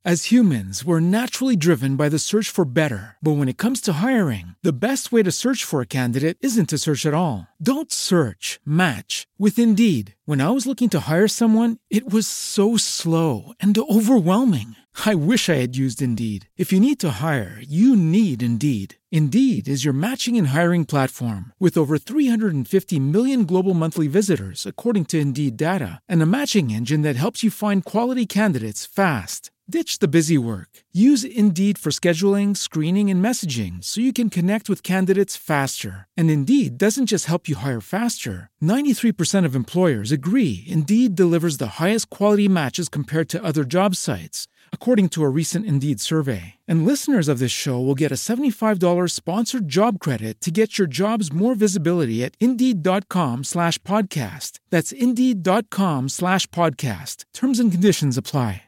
As humans, we're naturally driven by the search for better. But when it comes to hiring, the best way to search for a candidate isn't to search at all. Don't search, match with Indeed. When I was looking to hire someone, it was so slow and overwhelming. I wish I had used Indeed. If you need to hire, you need Indeed. Indeed is your matching and hiring platform with over 350 million global monthly visitors, according to Indeed data, and a matching engine that helps you find quality candidates fast. Ditch the busy work. Use Indeed for scheduling, screening, and messaging so you can connect with candidates faster. And Indeed doesn't just help you hire faster. 93% of employers agree Indeed delivers the highest quality matches compared to other job sites, according to a recent Indeed survey. And listeners of this show will get a $75 sponsored job credit to get your jobs more visibility at Indeed.com/podcast. That's Indeed.com/podcast. Terms and conditions apply.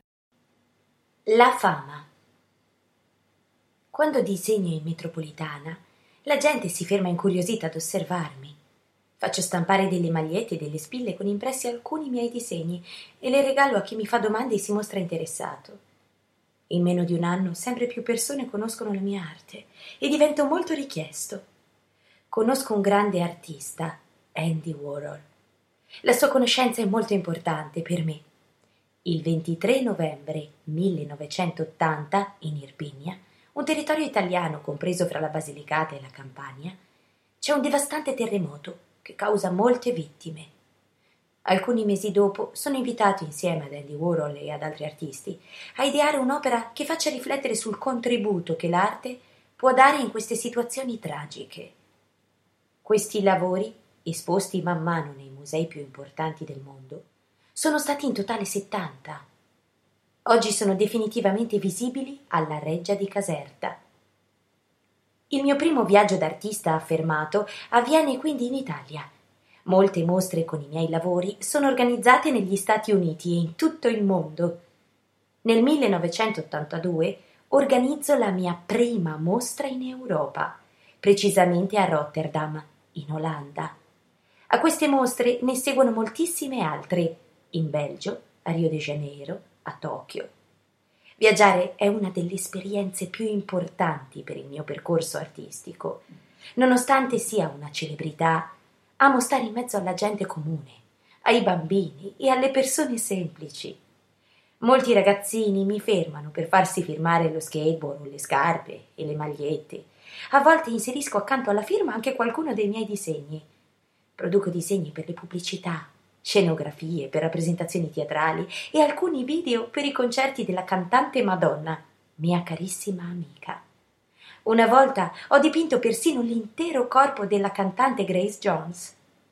La fama. Quando disegno in metropolitana, la gente si ferma incuriosita ad osservarmi. Faccio stampare delle magliette e delle spille con impressi alcuni miei disegni e le regalo a chi mi fa domande e si mostra interessato. In meno di un anno sempre più persone conoscono la mia arte e divento molto richiesto. Conosco un grande artista, Andy Warhol. La sua conoscenza è molto importante per me. Il 23 novembre 1980, in Irpinia, un territorio italiano compreso fra la Basilicata e la Campania, c'è un devastante terremoto che causa molte vittime. Alcuni mesi dopo sono invitato insieme ad Andy Warhol e ad altri artisti a ideare un'opera che faccia riflettere sul contributo che l'arte può dare in queste situazioni tragiche. Questi lavori, esposti man mano nei musei più importanti del mondo, sono stati in totale 70. Oggi sono definitivamente visibili alla Reggia di Caserta. Il mio primo viaggio d'artista affermato avviene quindi in Italia. Molte mostre con i miei lavori sono organizzate negli Stati Uniti e in tutto il mondo. Nel 1982 organizzo la mia prima mostra in Europa, precisamente a Rotterdam, in Olanda. A queste mostre ne seguono moltissime altre, in Belgio, a Rio de Janeiro, a Tokyo. Viaggiare è una delle esperienze più importanti per il mio percorso artistico. Nonostante sia una celebrità, amo stare in mezzo alla gente comune, ai bambini e alle persone semplici. Molti ragazzini mi fermano per farsi firmare lo skateboard o le scarpe e le magliette. A volte inserisco accanto alla firma anche qualcuno dei miei disegni. Produco disegni per le pubblicità, scenografie per rappresentazioni teatrali e alcuni video per i concerti della cantante Madonna, mia carissima amica. Una volta ho dipinto persino l'intero corpo della cantante Grace Jones.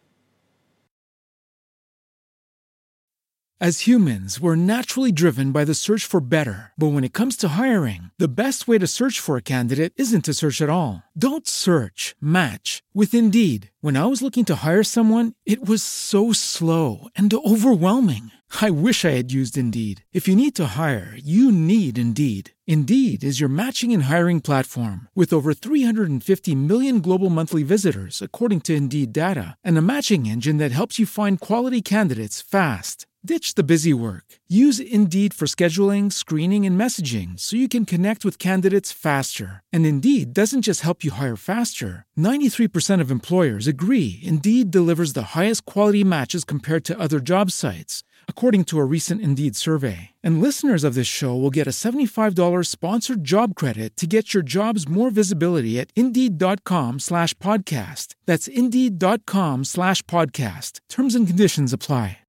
As humans, we're naturally driven by the search for better. But when it comes to hiring, the best way to search for a candidate isn't to search at all. Don't search, match with Indeed. When I was looking to hire someone, it was so slow and overwhelming. I wish I had used Indeed. If you need to hire, you need Indeed. Indeed is your matching and hiring platform with over 350 million global monthly visitors, according to Indeed data, and a matching engine that helps you find quality candidates fast. Ditch the busy work. Use Indeed for scheduling, screening, and messaging so you can connect with candidates faster. And Indeed doesn't just help you hire faster. 93% of employers agree Indeed delivers the highest quality matches compared to other job sites, according to a recent Indeed survey. And listeners of this show will get a $75 sponsored job credit to get your jobs more visibility at Indeed.com/podcast. That's Indeed.com/podcast. Terms and conditions apply.